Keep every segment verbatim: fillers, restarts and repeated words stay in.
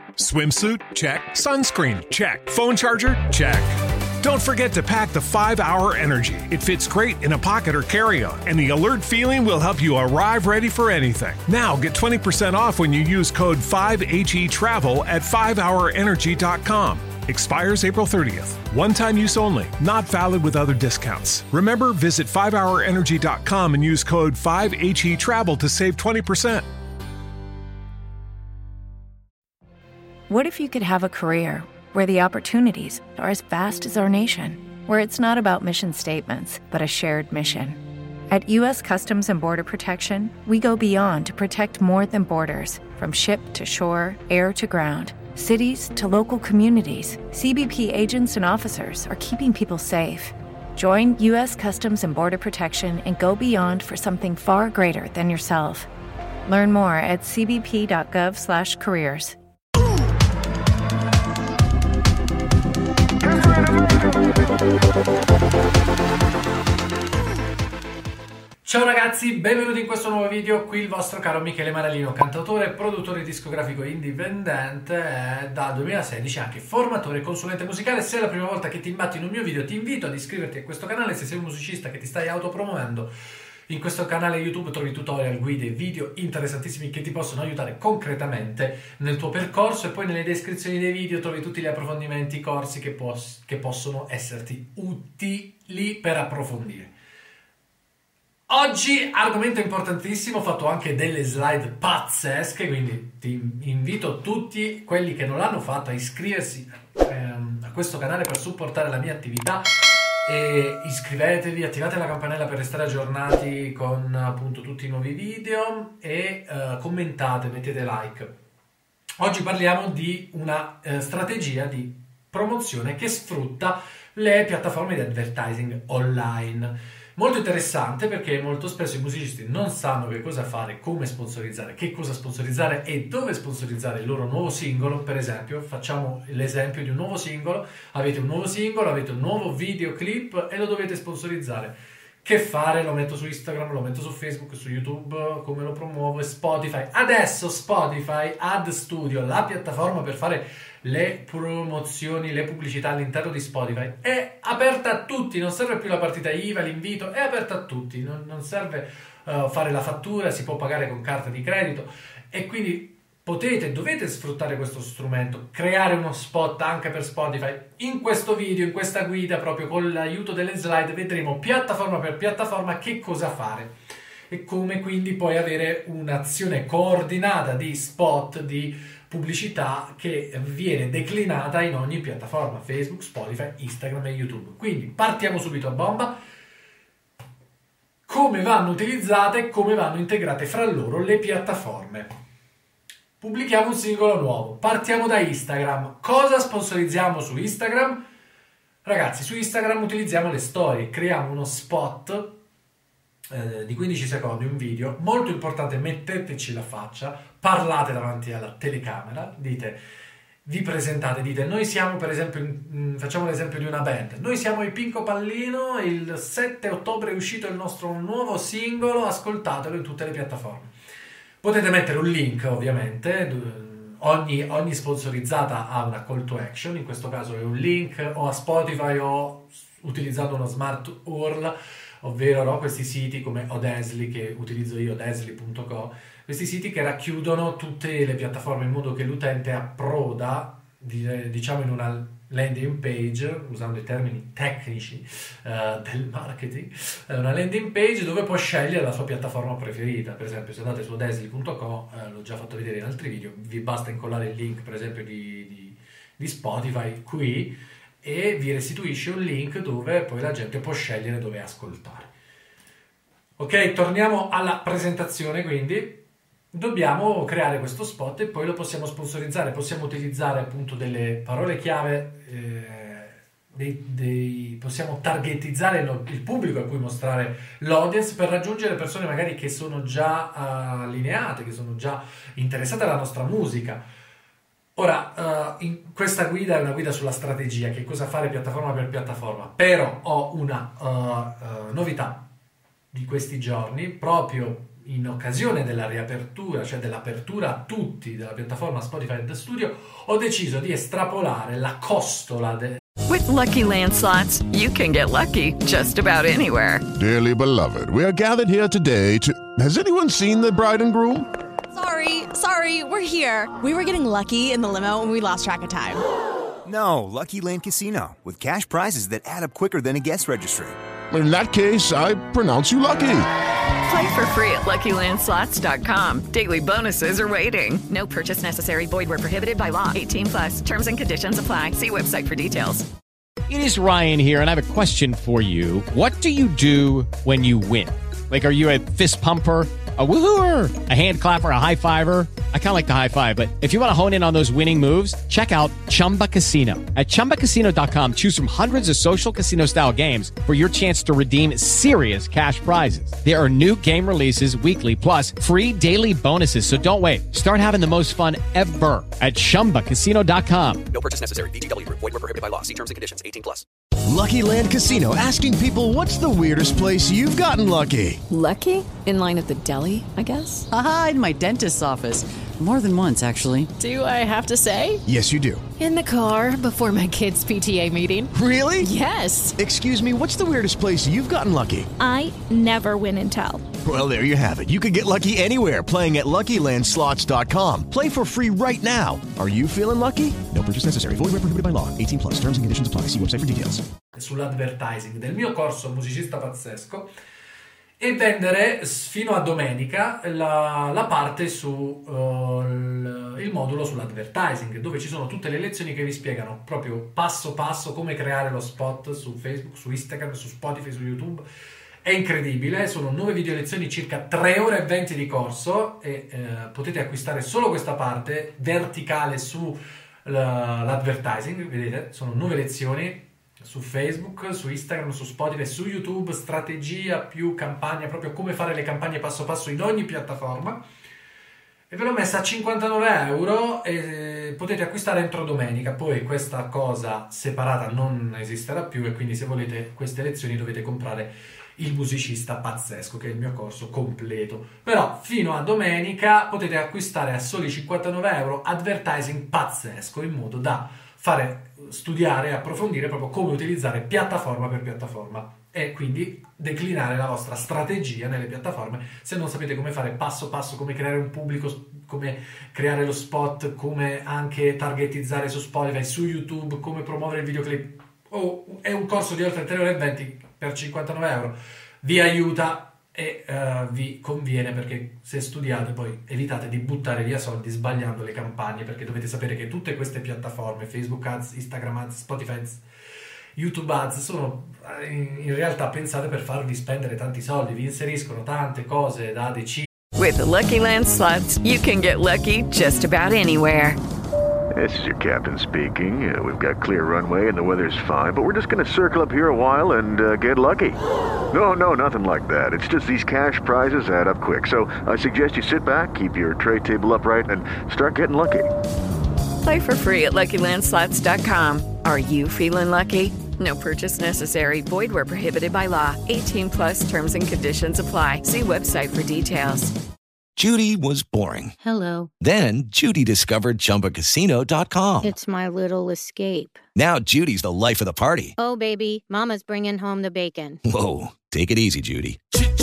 Swimsuit? Check. Sunscreen? Check. Phone charger? Check. Don't forget to pack the five hour Energy. It fits great in a pocket or carry-on, and the alert feeling will help you arrive ready for anything. Now get twenty percent off when you use code five H E travel at five hour energy dot com. Expires April thirtieth. One-time use only. Not valid with other discounts. Remember, visit five hour energy dot com and use code five H E travel to save twenty percent. What if you could have a career where the opportunities are as vast as our nation, where it's not about mission statements, but a shared mission? At U S Customs and Border Protection, we go beyond to protect more than borders. From ship to shore, air to ground, cities to local communities, C B P agents and officers are keeping people safe. Join U S Customs and Border Protection and go beyond for something far greater than yourself. Learn more at c b p dot gov slash careers. Ciao ragazzi, benvenuti in questo nuovo video. Qui il vostro caro Michele Maralino, cantautore e produttore discografico indipendente, e dal duemilasedici anche formatore e consulente musicale. Se è la prima volta che ti imbatti in un mio video, ti invito ad iscriverti a questo canale. Se sei un musicista che ti stai autopromuovendo, in questo canale YouTube trovi tutorial, guide e video interessantissimi che ti possono aiutare concretamente nel tuo percorso, e poi nelle descrizioni dei video trovi tutti gli approfondimenti, corsi che, pos- che possono esserti utili per approfondire. Oggi argomento importantissimo, ho fatto anche delle slide pazzesche, quindi ti invito tutti quelli che non l'hanno fatto a iscriversi ehm, a questo canale per supportare la mia attività. E iscrivetevi, attivate la campanella per restare aggiornati con appunto tutti i nuovi video e uh, commentate, mettete like. Oggi parliamo di una uh, strategia di promozione che sfrutta le piattaforme di advertising online. Molto interessante, perché molto spesso i musicisti non sanno che cosa fare, come sponsorizzare, che cosa sponsorizzare e dove sponsorizzare il loro nuovo singolo. Per esempio, facciamo l'esempio di un nuovo singolo, avete un nuovo singolo, avete un nuovo videoclip e lo dovete sponsorizzare. Che fare? Lo metto su Instagram, lo metto su Facebook, su YouTube, come lo promuovo? E Spotify. Adesso Spotify Ad Studio, la piattaforma per fare le promozioni, le pubblicità all'interno di Spotify, è aperta a tutti, non serve più la partita I V A, l'invito, è aperta a tutti, non, non serve uh, fare la fattura, si può pagare con carta di credito, e quindi potete, dovete sfruttare questo strumento, creare uno spot anche per Spotify. In questo video, in questa guida, proprio con l'aiuto delle slide, vedremo piattaforma per piattaforma che cosa fare e come quindi poi avere un'azione coordinata di spot, di pubblicità che viene declinata in ogni piattaforma: Facebook, Spotify, Instagram e YouTube. Quindi partiamo subito a bomba. Come vanno utilizzate e come vanno integrate fra loro le piattaforme. Pubblichiamo un singolo nuovo, partiamo da Instagram. Cosa sponsorizziamo su Instagram? Ragazzi, su Instagram utilizziamo le storie, creiamo uno spot eh, di quindici secondi, un video molto importante. Metteteci la faccia, parlate davanti alla telecamera, dite, vi presentate, dite: noi siamo, per esempio, in, facciamo l'esempio di una band, noi siamo i Pinco Pallino, il sette ottobre è uscito il nostro nuovo singolo, ascoltatelo in tutte le piattaforme. Potete mettere un link, ovviamente, ogni, ogni sponsorizzata ha una call to action, in questo caso è un link o a Spotify o utilizzando uno smart U R L, ovvero no, questi siti come Odesly, che utilizzo io, odesly punto co, questi siti che racchiudono tutte le piattaforme in modo che l'utente approda, diciamo, in una landing page, usando i termini tecnici uh, del marketing, una landing page dove può scegliere la sua piattaforma preferita. Per esempio, se andate su odesly punto co, eh, l'ho già fatto vedere in altri video, vi basta incollare il link, per esempio, di, di, di Spotify qui, e vi restituisce un link dove poi la gente può scegliere dove ascoltare. Ok, torniamo alla presentazione. Quindi dobbiamo creare questo spot e poi lo possiamo sponsorizzare. Possiamo utilizzare appunto delle parole chiave, eh, dei, dei, possiamo targetizzare lo, il pubblico a cui mostrare l'audience, per raggiungere persone magari che sono già uh, allineate, che sono già interessate alla nostra musica. Ora, uh, in questa guida è una guida sulla strategia, che cosa fare piattaforma per piattaforma, però ho una uh, uh, novità di questi giorni, proprio in occasione della riapertura, cioè dell'apertura a tutti della piattaforma Spotify and the Studio, ho deciso di estrapolare la costola de- With Lucky Land Slots, you can get lucky just about anywhere. Dearly beloved, we are gathered here today to... Has anyone seen the bride and groom? Sorry, sorry, we're here. We were getting lucky in the limo and we lost track of time. No, Lucky Land Casino, with cash prizes that add up quicker than a guest registry. In that case, I pronounce you lucky. Play for free at Lucky Land Slots dot com. Daily bonuses are waiting. No purchase necessary. Void where prohibited by law. eighteen plus. Terms and conditions apply. See website for details. It is Ryan here, and I have a question for you. What do you do when you win? Like, are you a fist pumper, a woohooer, a hand clapper, a high fiver? I kind of like the high five, but if you want to hone in on those winning moves, check out Chumba Casino. At chumba casino dot com, choose from hundreds of social casino style games for your chance to redeem serious cash prizes. There are new game releases weekly, plus free daily bonuses. So don't wait. Start having the most fun ever at chumba casino dot com. No purchase necessary. V G W Group. Void where prohibited by law. See terms and conditions. eighteen plus. Lucky Land Casino, asking people, what's the weirdest place you've gotten lucky? Lucky? In line at the deli, I guess? Aha, in my dentist's office. More than once, actually. Do I have to say? Yes, you do. In the car before my kids' P T A meeting. Really? Yes. Excuse me, what's the weirdest place you've gotten lucky? I never win and tell. Well, there you have it. You can get lucky anywhere, playing at Lucky Land Slots dot com. Play for free right now. Are you feeling lucky? No purchase necessary. Void where prohibited by law. eighteen plus. Terms and conditions apply. See website for details. Sull'advertising del mio corso Musicista Pazzesco e vendere fino a domenica la, la parte su uh, il, il modulo sull'advertising, dove ci sono tutte le lezioni che vi spiegano proprio passo passo come creare lo spot su Facebook, su Instagram, su Spotify, su YouTube. È incredibile, sono nove video lezioni, circa tre ore e venti di corso, e eh, potete acquistare solo questa parte verticale su l'advertising. Vedete, sono nove lezioni su Facebook, su Instagram, su Spotify, su YouTube, strategia più campagna, proprio come fare le campagne passo passo in ogni piattaforma, e ve l'ho messa a cinquantanove euro e potete acquistare entro domenica. Poi questa cosa separata non esisterà più, e quindi se volete queste lezioni dovete comprare il Musicista Pazzesco, che è il mio corso completo. Però fino a domenica potete acquistare a soli cinquantanove euro Advertising Pazzesco, in modo da fare studiare e approfondire proprio come utilizzare piattaforma per piattaforma, e quindi declinare la vostra strategia nelle piattaforme. Se non sapete come fare passo passo, come creare un pubblico, come creare lo spot, come anche targetizzare su Spotify, su YouTube, come promuovere il videoclip, oh, è un corso di oltre tre ore e venti per cinquantanove euro. Vi aiuta e uh, vi conviene, perché se studiate poi evitate di buttare via soldi sbagliando le campagne, perché dovete sapere che tutte queste piattaforme, Facebook Ads, Instagram Ads, Spotify Ads, YouTube Ads, sono in, in realtà pensate per farvi spendere tanti soldi, vi inseriscono tante cose da decidere. With Lucky Land Slots, you can get lucky just about anywhere. This is your captain speaking. Uh, we've got clear runway and the weather's fine, but we're just going to circle up here a while and uh, get lucky. No, no, nothing like that. It's just these cash prizes add up quick. So I suggest you sit back, keep your tray table upright, and start getting lucky. Play for free at Lucky Land Slots dot com. Are you feeling lucky? No purchase necessary. Void where prohibited by law. eighteen plus. Terms and conditions apply. See website for details. Judy was boring. Hello. Then Judy discovered Chumba Casino dot com. It's my little escape. Now Judy's the life of the party. Oh, baby, mama's bringing home the bacon. Whoa, take it easy, Judy.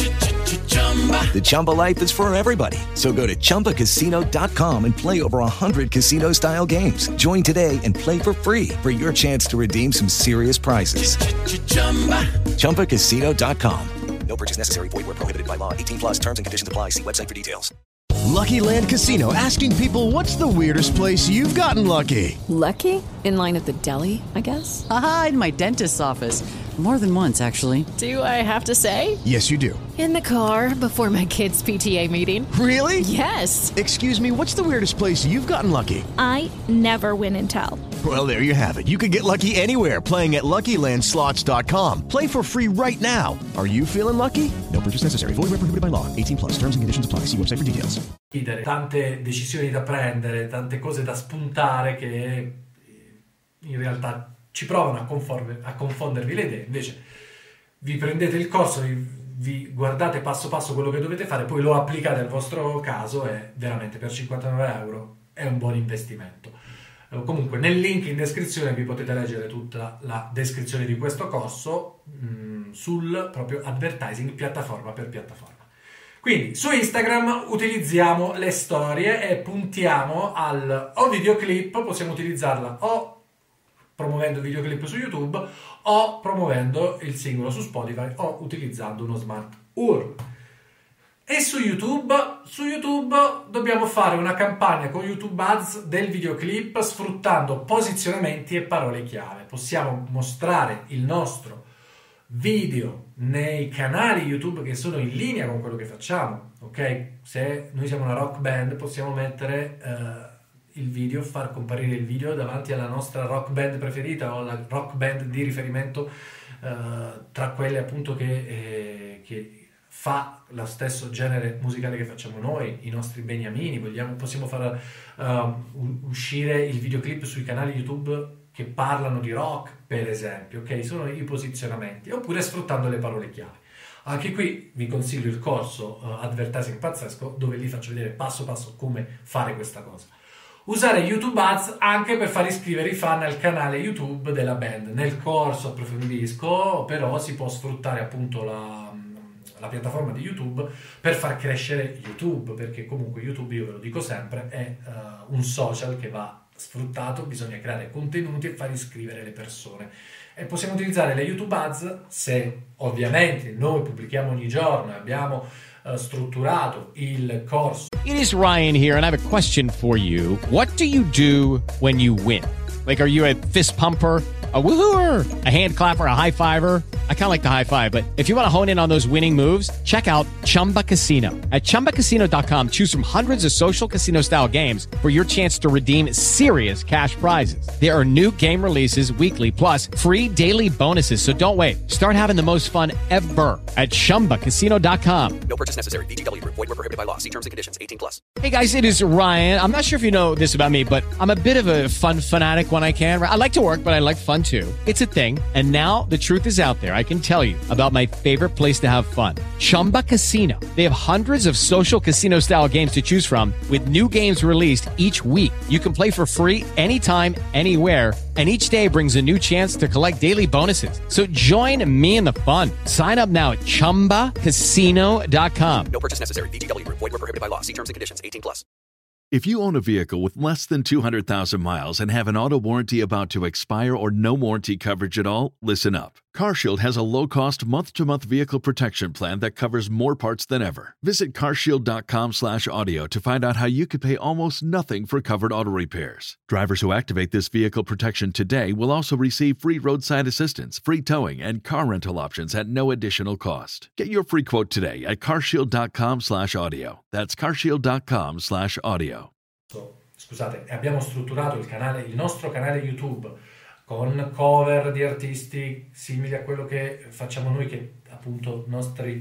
The Chumba life is for everybody. So go to chumba casino dot com and play over one hundred casino-style games. Join today and play for free for your chance to redeem some serious prizes. chumba casino dot com. No purchase necessary. Void where prohibited by law. eighteen plus. Terms and conditions apply. See website for details. Lucky Land Casino, asking people, what's the weirdest place you've gotten lucky? Lucky? In line at the deli, I guess? Aha, in my dentist's office. More than once, actually. Do I have to say? Yes, you do. In the car before my kids' P T A meeting. Really? Yes. Excuse me, what's the weirdest place you've gotten lucky? I never win and tell. Well, there you have it. You can get lucky anywhere, playing at Lucky Land Slots dot com. Play for free right now. Are you feeling lucky? No purchase necessary. Void where prohibited by law. eighteen plus. Terms and conditions apply. See website for details. Tante decisioni da prendere, tante cose da spuntare che in realtà ci provano a, conforme, a confondervi le idee. Invece vi prendete il corso, vi, vi guardate passo passo quello che dovete fare, poi lo applicate al vostro caso e veramente per cinquantanove euro è un buon investimento. Comunque nel link in descrizione vi potete leggere tutta la descrizione di questo corso mh, sul proprio advertising piattaforma per piattaforma. Quindi su Instagram utilizziamo le storie e puntiamo al o videoclip, possiamo utilizzarla o promuovendo il videoclip su YouTube o promuovendo il singolo su Spotify o utilizzando uno smart U R L. E su YouTube, su YouTube dobbiamo fare una campagna con YouTube Ads del videoclip sfruttando posizionamenti e parole chiave. Possiamo mostrare il nostro video nei canali YouTube che sono in linea con quello che facciamo, ok? Se noi siamo una rock band possiamo mettere uh, il video, far comparire il video davanti alla nostra rock band preferita o la rock band di riferimento uh, tra quelle appunto che, eh, che fa lo stesso genere musicale che facciamo noi, i nostri beniamini. Vogliamo, possiamo far uh, uscire il videoclip sui canali YouTube che parlano di rock, per esempio, ok? Sono i posizionamenti, oppure sfruttando le parole chiave. Anche qui vi consiglio il corso uh, Advertising Pazzesco, dove vi faccio vedere passo passo come fare questa cosa. Usare YouTube Ads anche per far iscrivere i fan al canale YouTube della band. Nel corso approfondisco, però si può sfruttare appunto la, la piattaforma di YouTube per far crescere YouTube, perché comunque YouTube, io ve lo dico sempre, è uh, un social che va sfruttato, bisogna creare contenuti e far iscrivere le persone. E possiamo utilizzare le YouTube Ads se ovviamente noi pubblichiamo ogni giorno e abbiamo uh, strutturato il corso. It is Ryan here, and I have a question for you. What do you do when you win? Like, are you a fist pumper, a woohooer, a hand clapper, a high fiver? I kind of like the high five, but if you want to hone in on those winning moves, check out Chumba Casino. At chumba casino dot com, choose from hundreds of social casino style games for your chance to redeem serious cash prizes. There are new game releases weekly, plus free daily bonuses. So don't wait. Start having the most fun ever at chumba casino dot com. No purchase necessary. V G W. Void where prohibited by law. See terms and conditions. eighteen plus. Hey guys, it is Ryan. I'm not sure if you know this about me, but I'm a bit of a fun fanatic when I can. I like to work, but I like fun too. It's a thing. And now the truth is out there. I can tell you about my favorite place to have fun. Chumba Casino. They have hundreds of social casino style games to choose from with new games released each week. You can play for free anytime, anywhere, and each day brings a new chance to collect daily bonuses. So join me in the fun. Sign up now at chumba casino dot com. No purchase necessary. V G W. Void where prohibited by law. See terms and conditions. eighteen plus. If you own a vehicle with less than two hundred thousand miles and have an auto warranty about to expire or no warranty coverage at all, listen up. CarShield has a low-cost month-to-month vehicle protection plan that covers more parts than ever. Visit carshield dot com slash audio to find out how you could pay almost nothing for covered auto repairs. Drivers who activate this vehicle protection today will also receive free roadside assistance, free towing, and car rental options at no additional cost. Get your free quote today at carshield dot com slash audio. That's carshield dot com slash audio. Scusate, abbiamo strutturato il canale, il nostro canale YouTube con cover di artisti simili a quello che facciamo noi, che appunto nostri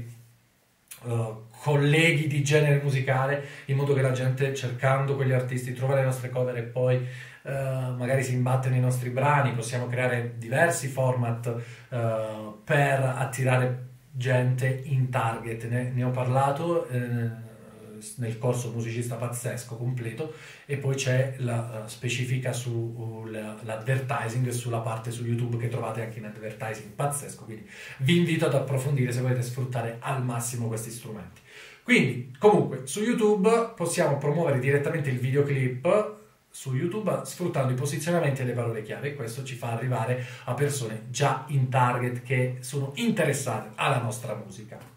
uh, colleghi di genere musicale, in modo che la gente, cercando quegli artisti, trova le nostre cover e poi uh, magari si imbatte nei nostri brani. Possiamo creare diversi format uh, per attirare gente in target. Ne, ne ho parlato eh, nel corso Musicista Pazzesco completo, e poi c'è la uh, specifica sull'advertising sulla parte su YouTube che trovate anche in Advertising Pazzesco, quindi vi invito ad approfondire se volete sfruttare al massimo questi strumenti. Quindi comunque su YouTube possiamo promuovere direttamente il videoclip su YouTube sfruttando i posizionamenti e le parole chiave, e questo ci fa arrivare a persone già in target che sono interessate alla nostra musica.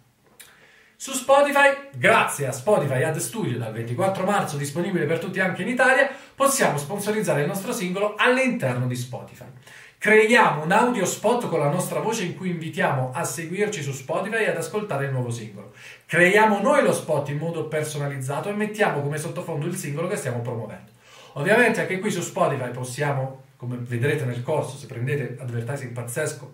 Su Spotify, grazie a Spotify Ad Studio, dal ventiquattro marzo disponibile per tutti anche in Italia, possiamo sponsorizzare il nostro singolo all'interno di Spotify. Creiamo un audio spot con la nostra voce in cui invitiamo a seguirci su Spotify e ad ascoltare il nuovo singolo. Creiamo noi lo spot in modo personalizzato e mettiamo come sottofondo il singolo che stiamo promuovendo. Ovviamente anche qui su Spotify possiamo, come vedrete nel corso, se prendete Advertising Pazzesco,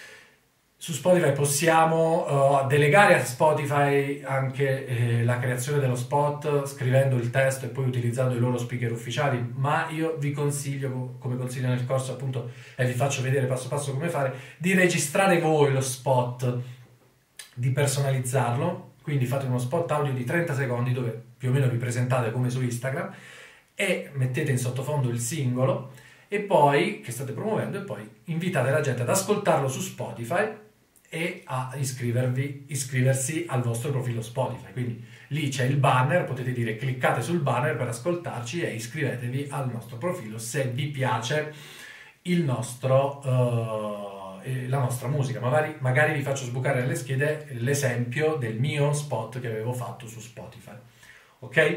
su Spotify possiamo uh, delegare a Spotify anche eh, la creazione dello spot, scrivendo il testo e poi utilizzando i loro speaker ufficiali, ma io vi consiglio, come consiglio nel corso appunto, e vi faccio vedere passo passo come fare, di registrare voi lo spot di personalizzarlo, quindi fate uno spot audio di trenta secondi dove più o meno vi presentate come su Instagram e mettete in sottofondo il singolo e poi che state promuovendo e poi invitate la gente ad ascoltarlo su Spotify e a iscrivervi, iscriversi al vostro profilo Spotify. Quindi lì c'è il banner, potete dire cliccate sul banner per ascoltarci e iscrivetevi al nostro profilo se vi piace il nostro, uh, la nostra musica. Magari, magari vi faccio sbucare nelle schede l'esempio del mio spot che avevo fatto su Spotify, ok?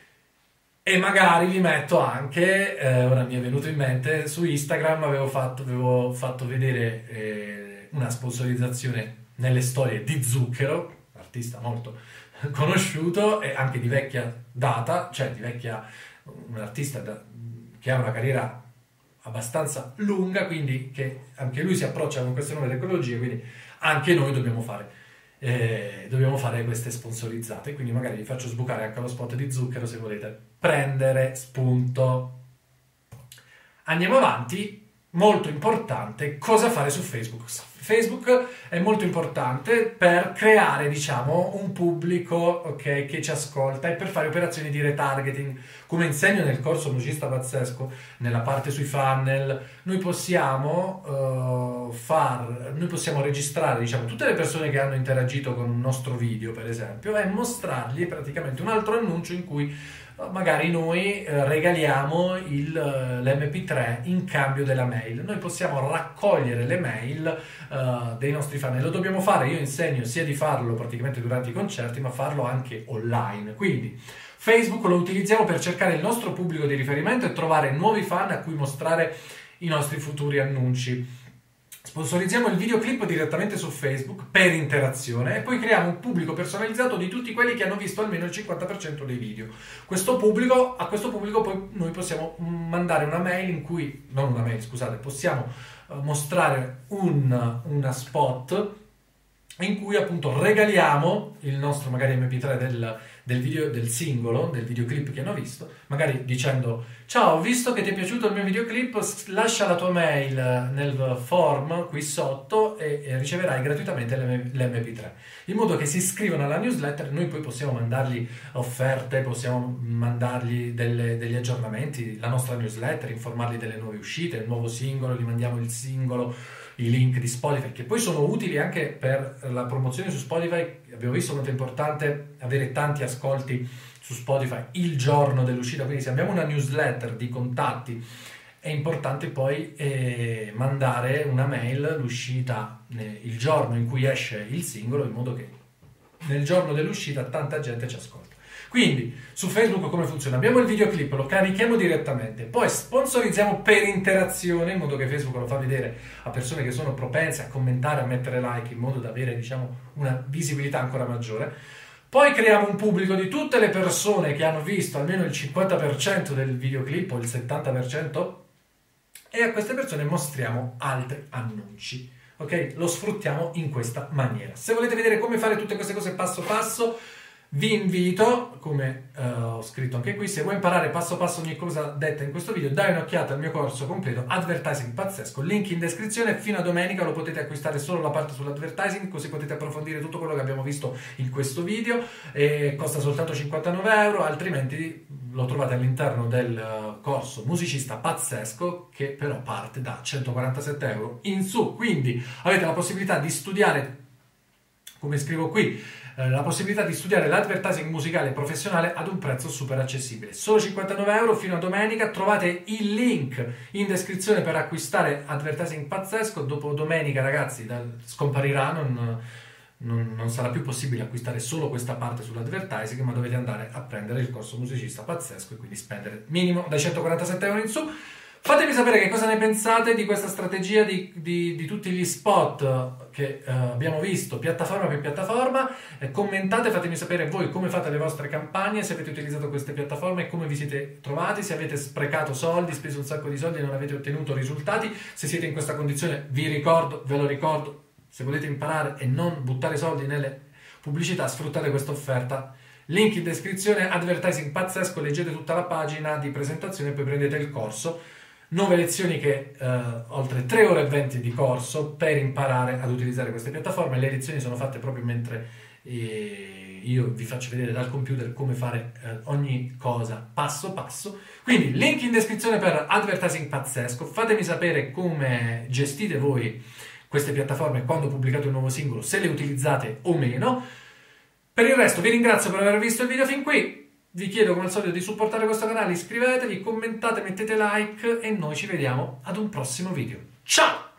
E magari vi metto anche, eh, ora mi è venuto in mente, su Instagram avevo fatto, avevo fatto vedere eh, una sponsorizzazione nelle storie di Zucchero, artista molto conosciuto e anche di vecchia data, cioè di vecchia, un artista da, che ha una carriera abbastanza lunga, quindi che anche lui si approccia con queste nuove tecnologie, quindi anche noi dobbiamo fare eh, dobbiamo fare queste sponsorizzate, quindi magari vi faccio sbucare anche lo spot di Zucchero se volete prendere spunto. Andiamo avanti. Molto importante cosa fare su Facebook. Facebook è molto importante per creare, diciamo, un pubblico, ok, che ci ascolta e per fare operazioni di retargeting. Come insegno nel corso Musicista Pazzesco, nella parte sui funnel, noi possiamo uh, far, noi possiamo registrare, diciamo, tutte le persone che hanno interagito con un nostro video, per esempio, e mostrargli praticamente un altro annuncio in cui magari noi eh, regaliamo il, l'emme pi tre in cambio della mail. Noi possiamo raccogliere le mail eh, dei nostri fan e lo dobbiamo fare. Io insegno sia di farlo praticamente durante i concerti, ma farlo anche online. Quindi Facebook lo utilizziamo per cercare il nostro pubblico di riferimento e trovare nuovi fan a cui mostrare i nostri futuri annunci. Sponsorizziamo il videoclip direttamente su Facebook per interazione e poi creiamo un pubblico personalizzato di tutti quelli che hanno visto almeno il cinquanta per cento dei video. Questo pubblico, a questo pubblico poi noi possiamo mandare una mail in cui, non una mail, scusate, possiamo uh, mostrare un, una spot in cui appunto regaliamo il nostro magari emme pi tre del, del video, del singolo, del videoclip che hanno visto, magari dicendo ciao, ho visto che ti è piaciuto il mio videoclip, lascia la tua mail nel form qui sotto e, e riceverai gratuitamente l'emme pi tre, in modo che si iscrivano alla newsletter. Noi poi possiamo mandargli offerte, possiamo mandargli delle, degli aggiornamenti, la nostra newsletter, informarli delle nuove uscite, il nuovo singolo, gli mandiamo il singolo, i link di Spotify, che poi sono utili anche per la promozione su Spotify. Abbiamo visto quanto è importante avere tanti ascolti su Spotify il giorno dell'uscita, quindi se abbiamo una newsletter di contatti è importante poi eh, mandare una mail l'uscita eh, il giorno in cui esce il singolo, in modo che nel giorno dell'uscita tanta gente ci ascolta. Quindi su Facebook come funziona? Abbiamo il videoclip, lo carichiamo direttamente, poi sponsorizziamo per interazione, in modo che Facebook lo fa vedere a persone che sono propense a commentare, a mettere like, in modo da avere, diciamo, una visibilità ancora maggiore. Poi creiamo un pubblico di tutte le persone che hanno visto almeno il cinquanta per cento del videoclip o il settanta per cento e a queste persone mostriamo altri annunci. Ok? Lo sfruttiamo in questa maniera. Se volete vedere come fare tutte queste cose passo passo, vi invito, come uh, ho scritto anche qui, se vuoi imparare passo passo ogni cosa detta in questo video, dai un'occhiata al mio corso completo Advertising Pazzesco, link in descrizione. Fino a domenica lo potete acquistare solo la parte sull'advertising, così potete approfondire tutto quello che abbiamo visto in questo video, e costa soltanto cinquantanove euro, altrimenti lo trovate all'interno del corso Musicista Pazzesco, che però parte da centoquarantasette euro in su. Quindi avete la possibilità di studiare, come scrivo qui, la possibilità di studiare l'advertising musicale professionale ad un prezzo super accessibile, solo cinquantanove euro fino a domenica. Trovate il link in descrizione per acquistare Advertising Pazzesco. Dopo domenica, ragazzi, da, scomparirà, non, non, non sarà più possibile acquistare solo questa parte sull'advertising, ma dovete andare a prendere il corso Musicista Pazzesco e quindi spendere minimo dai centoquarantasette euro in su. Fatemi sapere che cosa ne pensate di questa strategia di, di, di tutti gli spot che uh, abbiamo visto, piattaforma per piattaforma. Eh, commentate, fatemi sapere voi come fate le vostre campagne, se avete utilizzato queste piattaforme e come vi siete trovati, se avete sprecato soldi, speso un sacco di soldi e non avete ottenuto risultati. Se siete in questa condizione, vi ricordo, ve lo ricordo, se volete imparare e non buttare soldi nelle pubblicità, sfruttate questa offerta. Link in descrizione, Advertising Pazzesco, leggete tutta la pagina di presentazione e poi prendete il corso. Nuove lezioni che eh, oltre tre ore e venti di corso per imparare ad utilizzare queste piattaforme. Le lezioni sono fatte proprio mentre eh, io vi faccio vedere dal computer come fare eh, ogni cosa passo passo. Quindi link in descrizione per Advertising Pazzesco. Fatemi sapere come gestite voi queste piattaforme quando pubblicate un nuovo singolo, se le utilizzate o meno. Per il resto vi ringrazio per aver visto il video fin qui. Vi chiedo come al solito di supportare questo canale, iscrivetevi, commentate, mettete like e noi ci vediamo ad un prossimo video. Ciao!